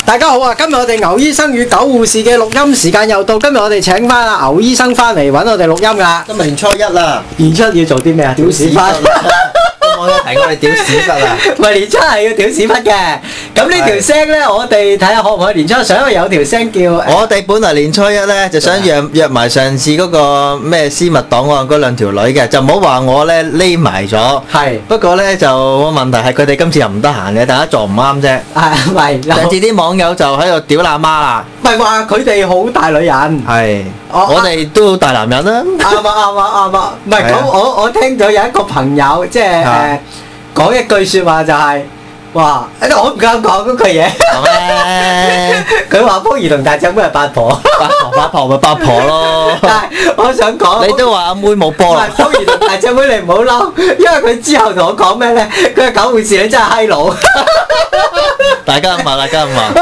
大家好啊！今日我哋牛醫生與狗護士嘅錄音時間又到，今日我哋請翻阿牛醫生翻嚟揾我哋錄音噶。 今日年初一啦， 年初要做啲咩啊？屌屎忽！ 我有提過你屌屎忽啊！ 唔係年初係要屌屎忽嘅。咁呢條聲咧，我哋睇下可唔可以年初上，因為有條聲叫。 我哋本來年初一咧就想約埋上次嗰個咩私密檔案嗰兩條女嘅，就唔好話我咧匿埋咗。係。不過咧就問題係佢哋今次又唔得閒嘅，大家撞唔啱啫。係咪？上次啲網友就喺度屌阿媽啦。唔係話佢哋好大女人。係。我哋都好大男人啦。啱啊！唔係咁，我聽咗有一個朋友即係講一句説話就係。哇！我唔敢講嗰句嘢。佢話福兒同大隻妹係八婆，八婆咪八婆咯。但係我想講，你都話阿妹冇波啦。福兒同大隻妹你唔好嬲，因為佢之後同我講咩咧？佢係狗護士，你真係閪佬。大家咁話。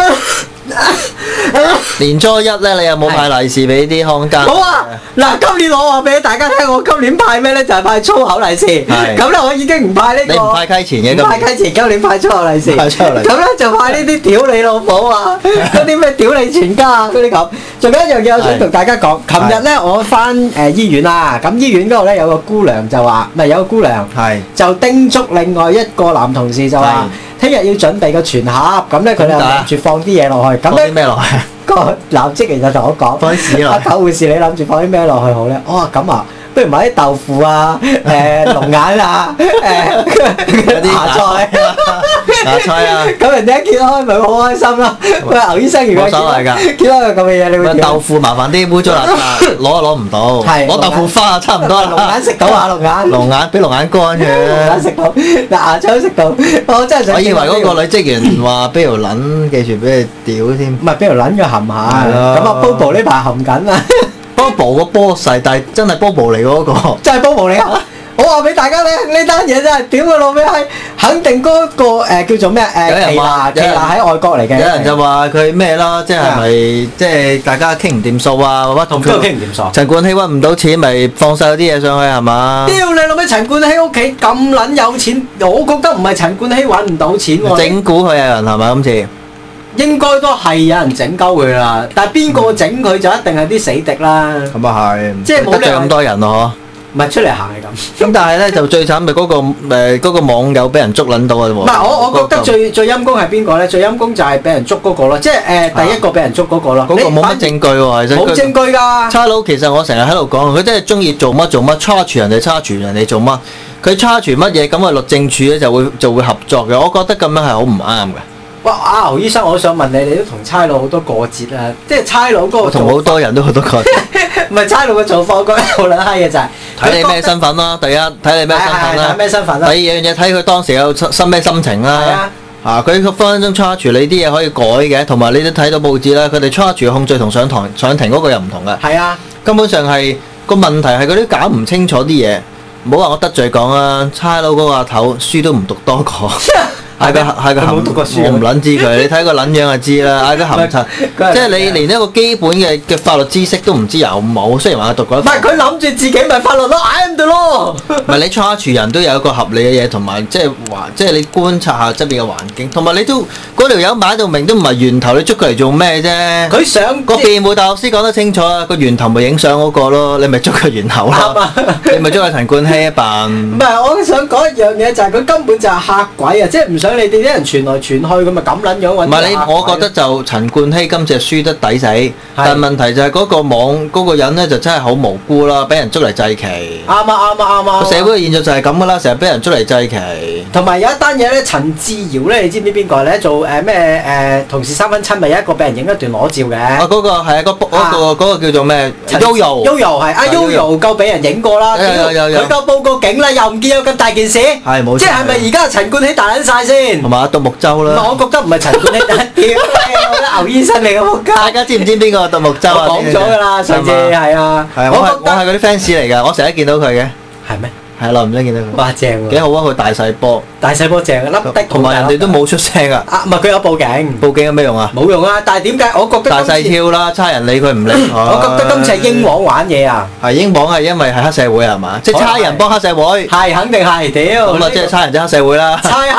年初一咧，你有冇派利是俾啲康家？冇啊！嗱，今年我話俾大家聽，我今年派咩咧？就係派粗口利是。係。咁咧，我已經唔派呢個。你唔派溪錢嘅？唔派溪錢，今年派粗口利是。派粗口利是。咁咧就派呢啲屌你老母啊！嗰啲咩屌你全家啊！嗰啲咁。仲有一樣嘢我想同大家講，琴日咧我翻醫院啦，咁醫院嗰度咧有個姑娘就話，唔係有個姑娘，就叮囑另外一個男同事就話。聽日要準備個全盒，咁咧佢哋諗住放啲嘢落去。咁咧咩落去？個男職員就同我講：放啲屎落去。狗護士，你諗住放啲咩落去好咧？我話咁啊，不如買啲豆腐啊、龍眼啊、嗰啲芽菜啊。咁人哋一見開咪好開心咯。喂，牛醫生如果冇所謂㗎，見到個咁嘅嘢，你會點？豆腐麻煩啲，污糟邋遢，攞唔到。係攞豆腐花差唔多啦。龍眼食到啊，龍眼。龍眼俾龍眼乾嘅。龍眼食到，嗱芽菜都食到。我真係想。我以為嗰個女職員話俾條撚記住俾你屌添。唔係俾條撚佢含下。係咯。咁啊，Bobo 呢排含緊啊。Bobo 個波細，但係真係 Bobo 嚟嗰個。真係 Bobo 嚟啊！我話俾大家聽，呢單嘢真係屌佢老味閪，肯定嗰個叫做咩奇娜喺外國嚟嘅。有人就話佢咩啦，即係咪即係大家傾唔掂數啊？或者同佢傾唔掂數。陳冠希揾唔到錢，咪放曬啲嘢上去係嘛？屌你老味！陳冠希屋企咁撚有錢，我覺得唔係陳冠希揾唔到錢喎。整蠱佢有人係咪今次？應該都係有人整鳩佢啦，但係邊個整佢就一定係啲死敵啦。咁啊係，即係冇得罪咁多人咯，唔係出嚟行係咁。咁但係咧就最慘咪嗰個網友俾人捉撚到啊！唔係我覺得最陰公係邊個咧？最陰公就係俾人捉嗰個咯，即係第一個俾人捉嗰個咯。嗰個冇乜證據喎，其實冇證據㗎。差佬其實我成日喺度講，佢真係中意做乜 charge 人哋 charge 人哋做乜，佢 charge 乜嘢咁啊？律政處咧就會合作嘅。我覺得咁樣係好唔啱嘅。哇！阿牛醫生，我想問你，你都同差佬好多過節啊？即係差佬嗰個，我同好多人都好多過節。唔係差佬嘅做法，我覺得好撚閪嘅就係睇你咩身份啦。第一睇你咩身份啦，咩身份啦。第二樣嘢睇佢當時有咩心情啦。佢分分鐘 charge 你啲嘢可以改嘅，同埋你都睇到報紙啦。佢哋 charge 控罪同上庭嗰個又唔同嘅。係啊，根本上係個問題係嗰啲搞唔清楚啲嘢。唔好話我得罪講啊，差佬嗰個阿頭書都唔讀多個。係個冇讀過書，我唔撚知佢。你睇個撚樣就知啦。嗌佢含柒，即係你連一個基本嘅法律知識都唔知有冇。雖然話佢讀過，唔係佢諗住自己咪法律咯，I am the law。唔係你 charge 人都有一個合理嘅嘢，同埋即係你觀察下側邊嘅環境，同埋你都嗰條友擺到明都唔係源頭，你捉佢嚟做咩啫？佢想個辯護大律師講得清楚啊，個源頭咪影相嗰個咯，你咪捉佢源頭咯。你咪捉佢陳冠希一扮。唔係，我想講一樣嘢就係佢根本就係嚇鬼啊！即係唔想。你哋啲人傳來傳去，咁咪咁撚樣揾？唔係你，我覺得就陳冠希今次係輸得抵死，但係問題就係嗰個網嗰個人咧就真係好無辜啦，俾人捉嚟祭旗。啱啊！個社會嘅現象就係咁噶啦，成日俾人捉嚟祭旗。同埋有一單嘢咧，陳志堯咧，你知唔知邊個咧？做咩同事三分親，咪有一個俾人影一段裸照嘅。啊，嗰個係啊，嗰個叫做咩？Yoyo 係啊 ，Yoyo 夠俾人影過啦。有佢夠報個警啦，又唔見有咁大件事。係冇錯。即係咪而家陳冠希大撚曬先？同埋獨木舟啦，我覺得唔係陳冠希，屌我覺得牛醫生嚟嘅仆街。大家知唔知邊個獨木舟啊？講咗㗎啦，上次係啊。我係嗰啲 fans 嚟㗎，我成日見到佢嘅。係咩？係咯，唔知見到佢。哇，正喎！幾好啊，佢大細波。大細波正啊，粒的。同埋人哋都冇出聲啊。啊，唔係佢有報警。報警有咩用啊？冇用啊！但係點解我覺得大細跳啦，差人理佢唔理。我覺得今次係英皇玩嘢啊。係英皇係因為係黑社會係嘛？即係差人幫黑社會。係肯定係屌。咁啊，即係差人即黑社會啦。差黑。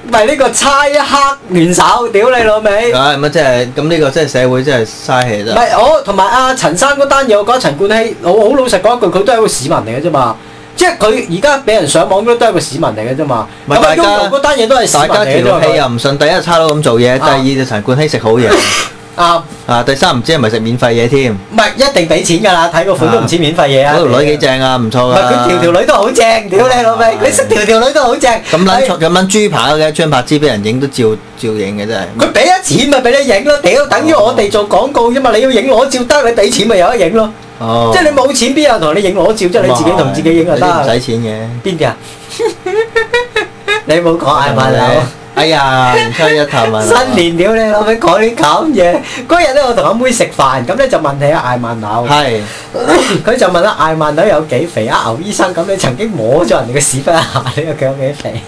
咪呢個猜黑聯手，屌你老味！ 咁即係咁呢個即係社會真係嘥氣啫。 唔係我同埋阿陳生嗰單嘢，我覺得陳冠希，我好老實講一句，佢都係一個市民嚟嘅啫嘛。即係佢而家俾人上網都係一個市民嚟嘅啫嘛。咁啊，嗰單嘢都係市民嚟嘅啫嘛。大家條氣又唔順， 第一差佬咁做嘢，第二就陳冠希食好嘢。啱第三唔知係咪食免費嘢添？ 唔係一定俾錢㗎啦，睇個款都唔似免費嘢啊！ 嗰條女幾正啊，唔錯㗎。唔係佢條女都好正，屌你老味！你識條女都好正。 咁撚豬扒嘅張柏芝俾人影都照影嘅真係。 佢俾咗錢咪俾你影咯，屌！等於我哋做廣告啫嘛，你要影裸照得，你俾錢咪有得影咯。即係你冇錢邊有人同你影裸照，即係你自己同自己影就得。 唔使錢嘅。邊啲啊？你冇講嗌埋樓。 哎呀，年初一頭問新年屌你老味講啲咁嘢。嗰日咧我同阿妹食飯，咁咧就問起艾曼樓。係。佢就問艾曼樓有幾肥啊？牛醫生咁你曾經摸咗人哋嘅屎忽一下，你話佢有幾肥？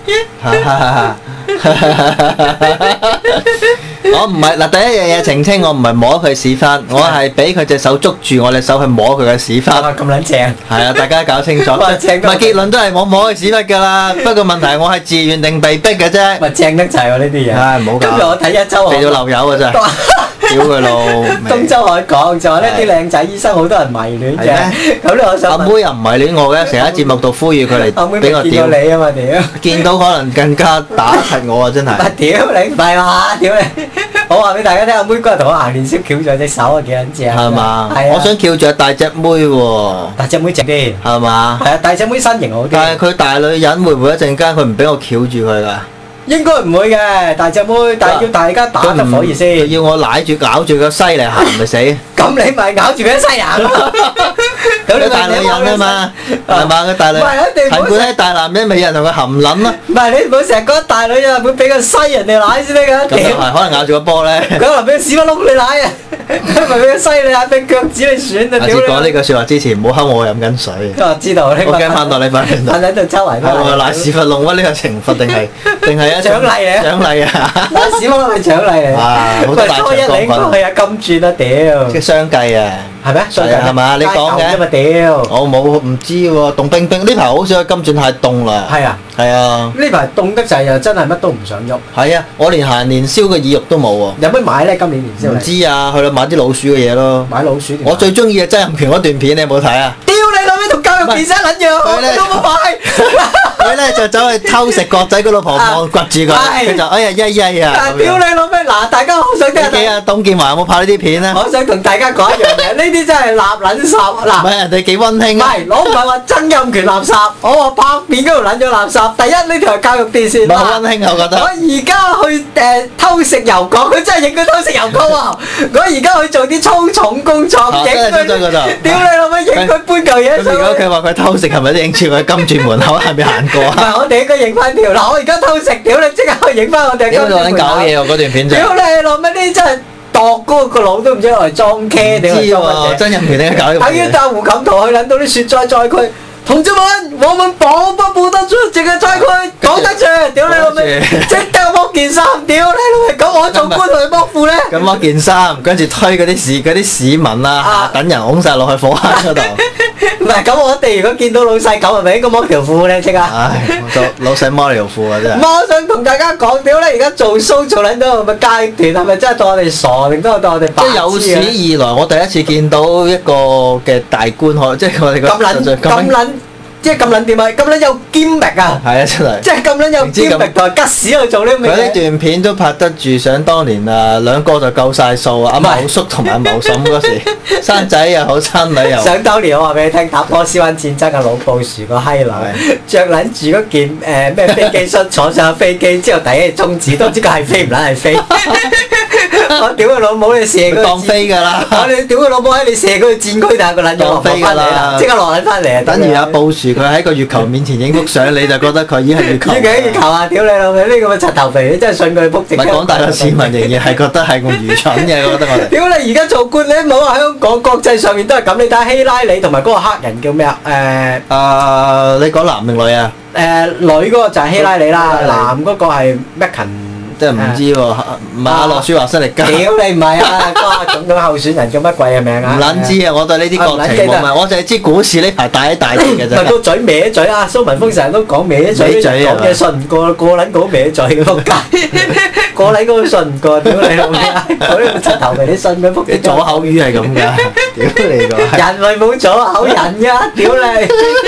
我唔係嗱，第一樣嘢澄清，我唔係摸佢屎忽，我係俾佢隻手捉住我隻手去摸佢嘅屎忽。 咁撚正。係啊，大家搞清楚。唔係結論都係我摸佢屎忽㗎啦。不過問題係我係自願定被逼嘅啫。 咪正得滯喎呢啲嘢。 唉，唔好搞。 跟住我睇一週。 嚟到漏油㗎真係。屌佢老。 東周海講就話呢啲靚仔醫生好多人迷戀嘅。咁咧我想。阿妹又唔迷戀我嘅，成日喺節目度呼籲佢嚟俾我屌。 見到你啊嘛屌。見到可能更加打柒我啊真係。 屌你唔係嘛屌你！我話俾大家聽，阿妹嗰日同我行年宵翹咗隻手啊，幾撚正啊！ 係嘛？係啊！我想翹住大隻妹喎。 大隻妹正啲。係嘛？ 係啊，大隻妹身形好啲。 但係佢大女人會唔會一陣間佢唔俾我翹住佢㗎？ 應該唔會嘅，大隻妹，但係要大家打得可以先。 要我舐住咬住個西嚟行咪死？ 咁你咪咬住佢西行咯。 佢大女人啊嘛，係嘛？佢大女人。陳冠希大男人咪有人同佢含撚咯。 唔係你唔好成日講大女人會俾個西人哋舐先得㗎。 咁又係，可能咬住個波咧。 佢可能俾個屎忽窿你舐啊！佢咪俾個西你舐，俾腳趾你選啊！ 下次講呢句説話之前，唔好睺我飲緊水。 我知道呢個。我驚翻到你翻嚟。 喺度周圍。 係喎，瀨屎忽窿啊！呢個懲罰定係啊？ 獎勵嚟啊！ 獎勵啊！ 瀨屎忽窿係獎勵嚟。 哇！好多大獎品。 初一領係啊金鑽啊屌！ 即係雙計啊！ 係咩？ 係啊，係嘛？你講嘅。我冇唔知喎，凍冰冰呢排好少金鑽太凍啦。係啊。係啊。呢排凍得滯啊，真係乜都唔想喐。 係啊，我連行年宵嘅意欲都冇喎。 有乜買咧？今年年宵？ 唔知啊，去到買啲老鼠嘅嘢咯。 買老鼠。 我最中意嘅曾蔭權嗰段片，你有冇睇啊？ 屌你老味同教育電視撚樣，我都冇買。 佢咧就走去偷食角仔，個老婆望掘住佢，佢就哎呀曳曳啊！ 屌你老味嗱，大家好想聽下。 幾啊？董建華有冇拍呢啲片咧？ 我想同大家講一樣嘢，呢啲真係垃撚圾嗱。 唔係人哋幾溫馨。 唔係，我唔係話曾蔭權垃圾，我話拍片嗰度撚咗垃圾。第一呢條係教育電視。 唔係好溫馨啊，我覺得。 我而家去偷食油角，佢真係影佢偷食油角喎。我而家去做啲粗重工作，影佢。屌你老味，影佢搬嚿嘢上去。 咁如果佢話佢偷食，係咪都影住佢金鑽門口係咪行過啊？ 唔係，我哋應該影翻條。嗱，我而家偷食，屌你即刻去影翻我哋金鑽門口。 點解搞嘢喎？嗰段片就。 屌你老味，呢啲真係度嗰個腦都唔知攞嚟裝 K 定係裝乜嘢？ 曾蔭權點解搞呢個？ 等於搭胡錦濤去撚到啲雪災災區。同志們，我們保不得住這個災區，講得住，屌你老味，即刻剝件衫，屌你老味，咁我做官同佢剝褲咧？ 咁剝件衫，跟住推嗰啲市民啊，等人擁曬落去火坑嗰度。 唔係，咁我哋如果見到老細咁，係咪應該剝條褲咧？即刻。 唉，老細剝條褲啊真係。 我想同大家講，屌你而家做 show 做撚到個階段，係咪真係當我哋傻定都係當我哋白痴啊？ 即係有史以來，我第一次見到一個嘅大官可，即係我哋咁撚。即係咁撚掂啊！咁撚有堅力啊！ 係啊，真係！ 即係咁撚有堅力同埋吉屎去做呢啲嘢。 佢呢段片都拍得住，想當年啊，兩個就夠晒數啊！阿茂叔同埋阿茂嬸嗰時，生仔又好，生女又好。 想當年我話俾你聽，打波斯灣戰爭嘅老布殊個閪佬，着撚住嗰件咩飛機恤，坐上飛機之後第一日中指都知佢係飛唔撚係飛。我屌佢老母，你射佢當飛㗎啦！ 我哋屌佢老母喺你射佢去戰區，但係個撚咗落翻嚟啦，即刻落撚翻嚟啊！ 等於阿布殊佢喺個月球面前影幅相，你就覺得佢已經係月球。 已經係月球啊！屌你老味，呢個咁嘅柒頭肥，你真係信佢撲直。 唔係廣大嘅市民仍然係覺得係咁愚蠢嘅，我覺得我哋。 屌你而家做官，你唔好話香港國際上面都係咁，你睇下希拉里同埋嗰個黑人叫咩啊？ 你講男定女啊？ 女嗰個就係希拉里啦，男嗰個係麥肯。 即係唔知喎，唔係阿諾舒華辛力加。 屌你唔係啊，嗰個總統候選人叫乜鬼嘅名啊？ 唔撚知啊，我對呢啲國情冇問，我就係知股市呢排大起大跌嘅啫。 個嘴歪嘴啊！蘇文峰成日都講歪嘴，講嘢信唔過，個撚個歪嘴仆街，個撚個都信唔過，屌你老味！嗰啲柒頭皮你信咩仆街？ 左口語係咁㗎，屌你個！ 人咪冇左口人㗎，屌你！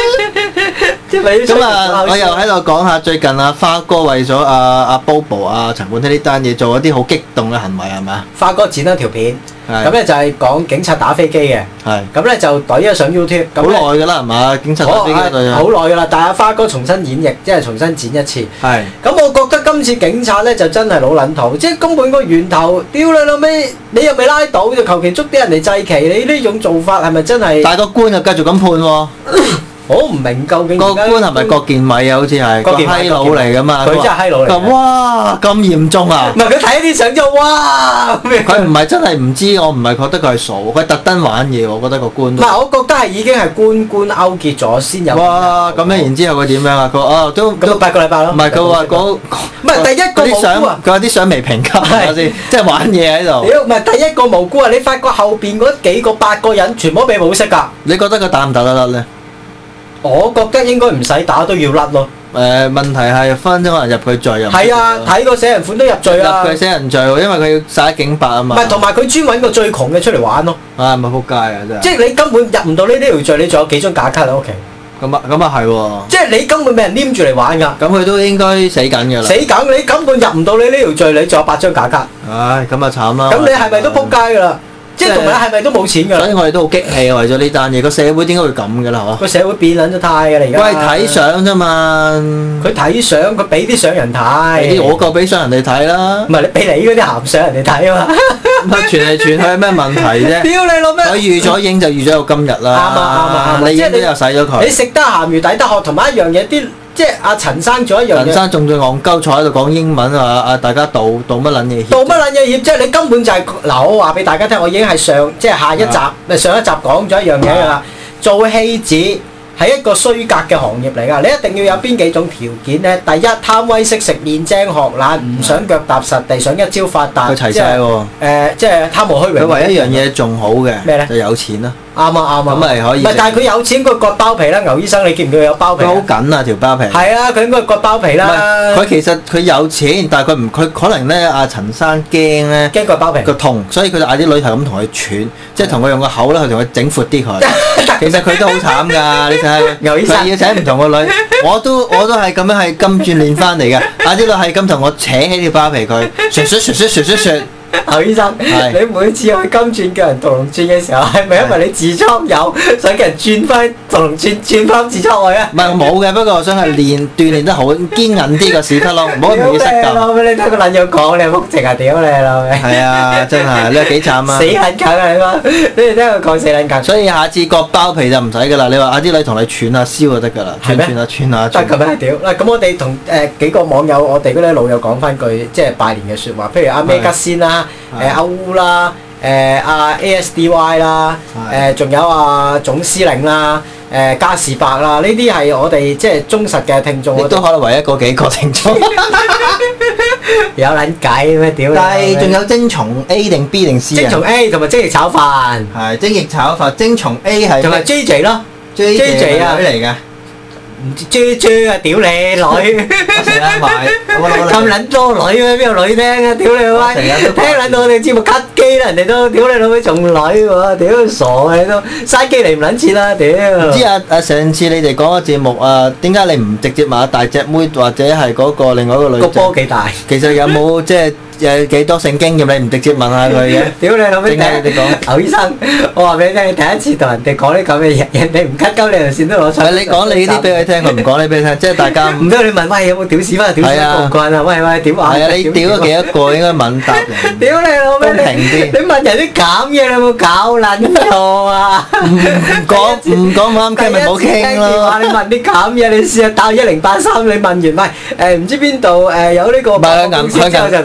咁啊，我又喺度講下最近阿花哥為咗阿 Bobo 陳冠希呢單嘢做一啲好激動嘅行為係咪啊？ 花哥剪咗條片，咁咧就係講警察打飛機嘅，咁咧就懟咗上 YouTube。好耐㗎啦係嘛？警察打飛機好耐㗎啦，但係阿花哥重新演繹，即係重新剪一次。 係。 咁我覺得今次警察咧就真係老撚頭，即係根本個源頭，屌你老味，你又未拉到就求其捉啲人嚟祭旗，你呢種做法係咪真係？ 但係個官又繼續咁判喎。 我唔明究竟個官係咪郭建偉啊？好似係個閪佬嚟㗎嘛？ 佢真係閪佬嚟。 哇！咁嚴重啊！ 唔係佢睇啲相之後，哇！ 佢唔係真係唔知，我唔係覺得佢係傻，佢特登玩嘢。我覺得個官。唔係，我覺得係已經係官勾結咗先有。 哇！咁樣然之後佢點樣啊？佢都 8個禮拜咯。 唔係佢話嗰唔係第一個無辜啊！ 佢話啲相未評級係先，即係玩嘢喺度。 屌，唔係第一個無辜啊！你發覺後邊嗰幾個8個人全部都俾保釋㗎。 你覺得佢打唔打得甩咧？ 我覺得應該唔使打都要甩咯。 問題係分鐘可能入佢罪啊。 係啊，睇個死人款都入罪啊。 入佢死人罪喎，因為佢要殺警白啊嘛。 唔係，同埋佢專揾個最窮嘅出嚟玩咯。 啊，咪撲街啊！真係。 即係你根本入唔到呢條罪，你仲有幾張假卡喺屋企？ 咁啊係喎。 即係你根本俾人黏住嚟玩㗎。 咁佢都應該死緊㗎啦。 死緊！你根本入唔到你呢條罪，你仲有8張假卡。 唉，咁啊慘啦。 咁你係咪都撲街㗎啦？即係同埋係咪都冇錢㗎？ 所以我哋都好激氣啊！為咗呢單嘢，個社會點解會咁㗎啦？ 個社會變撚咗態㗎啦！而家喂，睇相啫嘛。佢睇相，佢俾啲相人睇。 我夠俾相人哋睇啦。 唔係你俾你嗰啲鹹相人哋睇啊嘛。 乜傳嚟傳去有咩問題啫？ 屌你老咩！ 佢預咗影就預咗有今日啦。 啱。 你影都又洗咗佢。 你食得鹹魚抵得渴，同埋一樣嘢啲。即係阿陳生做一樣嘢， 陳生仲最戇鳩坐喺度講英文啊！大家道乜撚嘢協？ 道乜撚嘢協？即係你根本就係嗱，我話俾大家聽，我已經係下一集上一集講咗一樣嘢㗎啦。做戲子係一個衰格嘅行業嚟㗎，你一定要有邊幾種條件咧？第一，貪威識食，面精學懶，唔想腳踏實地，想一朝發達。 佢齊晒喎。 即係貪慕虛榮。 佢唯一一樣嘢仲好嘅咩咧？ 就有錢啦。 啱啊！ 咁咪可以。 唔係，但係佢有錢，佢割包皮啦。牛醫生，你見唔見佢有包皮？ 佢好緊啊條包皮。 係啊，佢應該割包皮啦。 佢其實佢有錢，但係佢可能咧，阿陳生驚咧， 驚割包皮個痛，所以佢就嗌啲女係咁同佢串，即係同佢用個口咧去同佢整闊啲佢。其實佢都好慘㗎，你睇下牛醫生， 佢要請唔同個女，我都係咁樣係金鑽練翻嚟嘅。嗌啲女係咁同我扯起條包皮佢，唰。 牛醫生，你每次去金鑽叫人屠龍鑽嘅時候，係咪因為你痔瘡有，想叫人轉翻屠龍鑽，轉翻痔瘡去啊？ 唔係冇嘅，不過我想係鍛鍊得好，堅韌啲個屎忽窿，唔好咁易失禁。 你睇個撚樣講，你福情啊！屌你老味！係啊，真係你幾慘啊！ 死撚梗啊！你講，你哋聽佢講死撚梗。 所以下次割包皮就唔使㗎啦，你話嗌啲女同你串下燒就得㗎啦，串下。得咁樣屌嗱，咁我哋同幾個網友，我哋嗰啲老友講翻句即係拜年嘅説話，譬如阿咩吉先啦。阿烏啦，阿 ASDY 啦，仲有阿總司令啦，嘉士伯啦，呢啲係我哋即係忠實嘅聽眾。 亦都可能唯一嗰幾個聽眾。 有撚計咩屌？ 但係仲有精蟲 A 定 B 定 C 啊？ 精蟲 A 同埋精液炒飯。 係精液炒飯，精蟲 A 係。 同埋 JJ 咯 ，JJ 啊，女嚟㗎。 唔知啫啊！屌你女， 我成日買， 咁撚多女咩？邊有女聽啊？屌你閪！聽撚到我哋節目 cut 機啦，人哋都屌你老味仲女喎！屌傻你都嘥機嚟唔撚切啦！屌！唔知上次你哋講嘅節目點解你唔直接買大隻妹或者係嗰個另外一個女仔？ 個波幾大？ 其實有冇即係？有幾多性經驗你唔直接問下佢嘅？ 屌你老味！ 點解你哋講？ 牛醫生，我話俾你聽，你第一次同人哋講啲咁嘅嘢，人哋唔 cut 鳩你條線都攞出。 你講你啲俾佢聽，佢唔講你俾佢聽，即係大家唔得你問喂有冇屌屎忽？屌屎忽唔慣啊！喂點話？ 係啊，你屌咗幾多個應該問答人？ 屌你老味！ 公平啲。 你問人啲咁嘢，你有冇搞撚錯啊？ 唔講啱傾咪冇傾咯。 你問啲咁嘢，你試下打1083，你問完喂唔知邊度有呢個？ 唔係去銀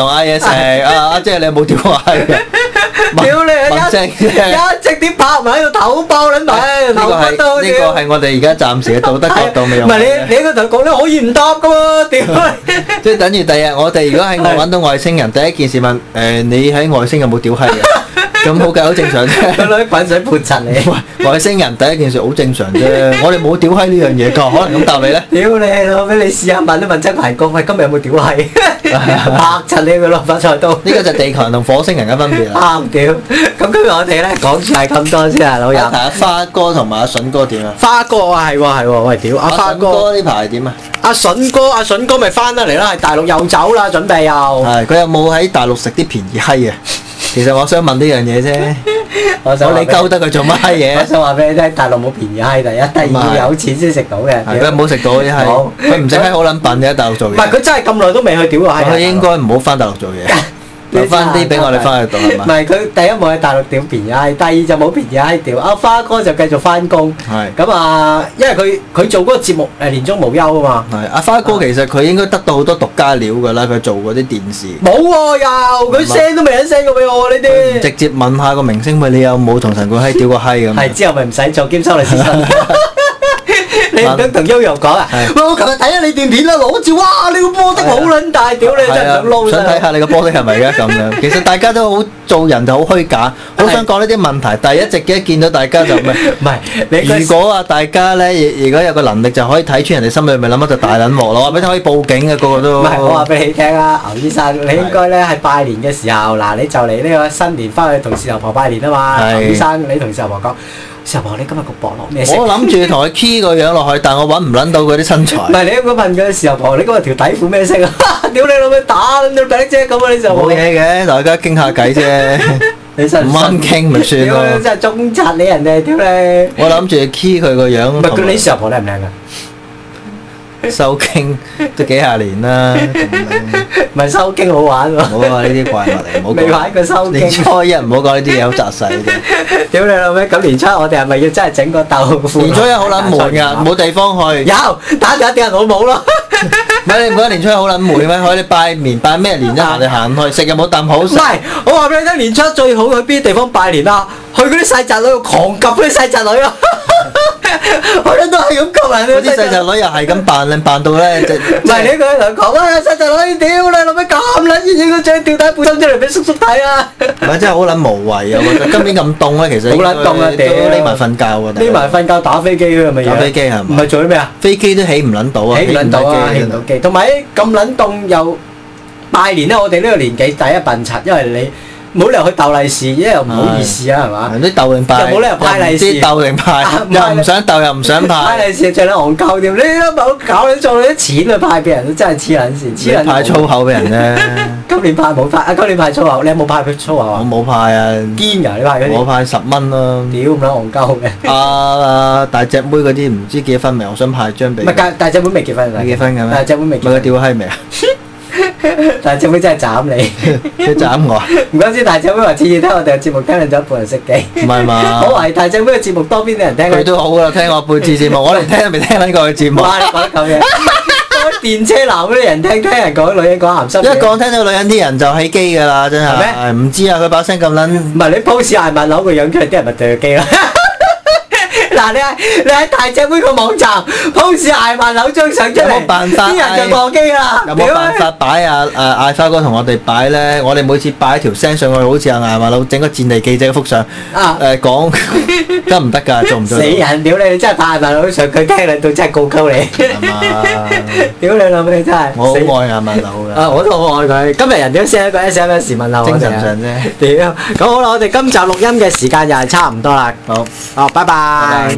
同嗌嘢食，阿姐你有冇屌過閪嘅？ 屌你一直啲拍埋喺度頭包撚埋，頭骨都呢個係我哋而家暫時嘅道德角度未用。 唔係你嗰度講咧可以唔答噶喎，屌！ 即係等於第日我哋如果喺外揾到外星人，第一件事問你喺外星有冇屌閪嘅？咁好計好正常啫。 佢攞啲滾水潑塵你。 外星人第一件事好正常啫，我哋冇屌閪呢樣嘢㗎，可能咁答你咧。 屌你老味，你試下問都問親排公，喂今日有冇屌閪？拍柒你個落發菜刀。呢個就係地球人同火星人嘅分別啦。 啱屌！咁今日我哋咧講住係咁多先啊，老友。 睇下花哥同埋阿筍哥點啊？ 花哥啊係喎，喂屌！阿花哥呢排點啊？ 阿筍哥咪翻得嚟啦，係大陸又走啦，準備又。 係佢有冇喺大陸食啲便宜閪啊？其實我想問呢樣嘢啫，我你鳩得佢做乜閪嘢？ 我想話俾你聽，大陸冇便宜閪，第一，第二有錢先食到嘅。 佢冇食到啲閪，佢唔食閪好撚笨嘅喺大陸做嘢。 唔係佢真係咁耐都未去屌過閪。 佢應該唔好翻大陸做嘢。留翻啲俾我哋翻去讀係嘛？ 唔係佢第一冇喺大陸屌便宜閪，第二就冇便宜閪屌。阿花哥就繼續翻工。係。咁啊，因為佢做嗰個節目年終無休啊嘛。 係。阿花哥其實佢應該得到好多獨家料㗎啦，佢做嗰啲電視。 冇喎又，佢 send 都未人 send 過俾我呢啲。 直接問下個明星喂，你有冇同陳冠希屌過閪咁？ 係之後咪唔使做兼收利是薪。你唔想同悠悠講啊？喂，我琴日睇下你段片啦，攞住哇！你個波的好撚大，屌你真係想撈想睇下你個波的係咪而家咁樣？其實大家都好做人就好虛假，好想講呢啲問題，但係一直見到大家就唔係你。如果啊大家咧，如果有個能力就可以睇穿人哋心裏面諗乜就大撚鑊咯。話俾你可以報警嘅個個都。唔係我話俾你聽啊，牛醫生，你應該咧係拜年嘅時候，嗱你就嚟呢個新年翻去同事頭婆拜年啊嘛。牛醫生，你同事頭婆講。時候你今日個膊落咩色？我諗住同佢 key 個樣落去，但我揾唔撚到佢啲身材。唔係你應該問佢時候婆，你今日條底褲咩色啊？屌你老味打撚到底啫咁啊！你就冇嘢嘅，大家傾下偈啫。你真係唔啱傾咪算咯。屌你真係中柒你人哋，屌你！我諗住 key 佢個樣。唔係佢你時候婆靚唔靚㗎？收經都幾廿年啦，唔係收經好玩喎。唔好話呢啲怪物嚟，唔好講。未玩過收經。年初一唔好講呢啲嘢，好雜細嘅。屌你老味！咁年初我哋係咪要真係整個豆腐？年初一好撚悶㗎，冇地方去。有打電話叫人老母咯。唔係你唔覺得年初一好撚悶咩？可以拜年拜咩年啫？行嚟行去食又冇啖好食。唔係，我話俾你聽，年初一最好去邊啲地方拜年啊？去嗰啲細宅女度狂及嗰啲細宅女啊！我哋都係咁講人，嗰啲細侄女又係咁扮靚扮到咧，唔係你佢同佢講啊，細侄女屌你老味咁撚熱，影個張吊帶背心出嚟俾叔叔睇啊！唔係真係好撚無謂啊！我覺得今年咁凍咧，其實好撚凍啊！屌匿埋瞓覺啊！匿埋瞓覺打飛機㗎係咪？打飛機係嘛？唔係做啲咩啊？飛機都起唔撚到啊！起唔撚到啊！起唔到機，同埋咁撚凍又拜年咧，我哋呢個年紀第一笨柒，因為你。冇理由去鬥利是，因為又唔好意思啊，係嘛？啲鬥定派，又冇理由派利是，鬥定派，又唔想鬥又唔想派。派利是最撚戇鳩添，你都冇搞你做你啲錢去派俾人，都真係黐撚線，黐撚。派粗口俾人咧。今年派冇派啊！今年派粗口，你有冇派佢粗口啊？我冇派啊。堅㗎，你派嗰啲？我派10蚊咯。屌咁撚戇鳩嘅。大隻妹嗰啲唔知結婚未？我想派張俾。唔係大隻妹未結婚㗎。未結婚㗎咩？大隻妹未結婚。咪佢屌閪未啊？大隻妹真係斬你，佢斬我。唔怪之大隻妹話次次聽我哋嘅節目聽咗一半人熄機。唔係嘛？我懷疑大隻妹嘅節目多邊啲人聽。佢都好㗎，聽我半次節目，我連聽都未聽撚過佢節目。哇！你講得咁嘢，講電車男嗰啲人聽人講女人講鹹濕。一講聽到女人啲人就起機㗎啦，真係。係咩？唔知啊，佢把聲咁撚。唔係你 post 艾文樓個樣出嚟，啲人咪對佢機啦。嗱，你喺大隻妹個網站 post 艾曼樓張相出嚟，有冇辦法？啲人就過機啦。有冇辦法擺艾花哥同我哋擺咧？我哋每次擺一條聲上去，好似艾曼樓整個戰地記者嘅幅相。講得唔得㗎？做唔做？死人！屌你！真係拍艾曼樓上，佢聽你到真係告鳩你。係嘛？屌你老味真係！我好愛艾曼樓㗎。我都好愛佢。今日人哋 send 一個 SMS 問候我哋。精神上啫。屌！咁好啦，我哋今集錄音嘅時間又係差唔多啦。好。哦，拜拜。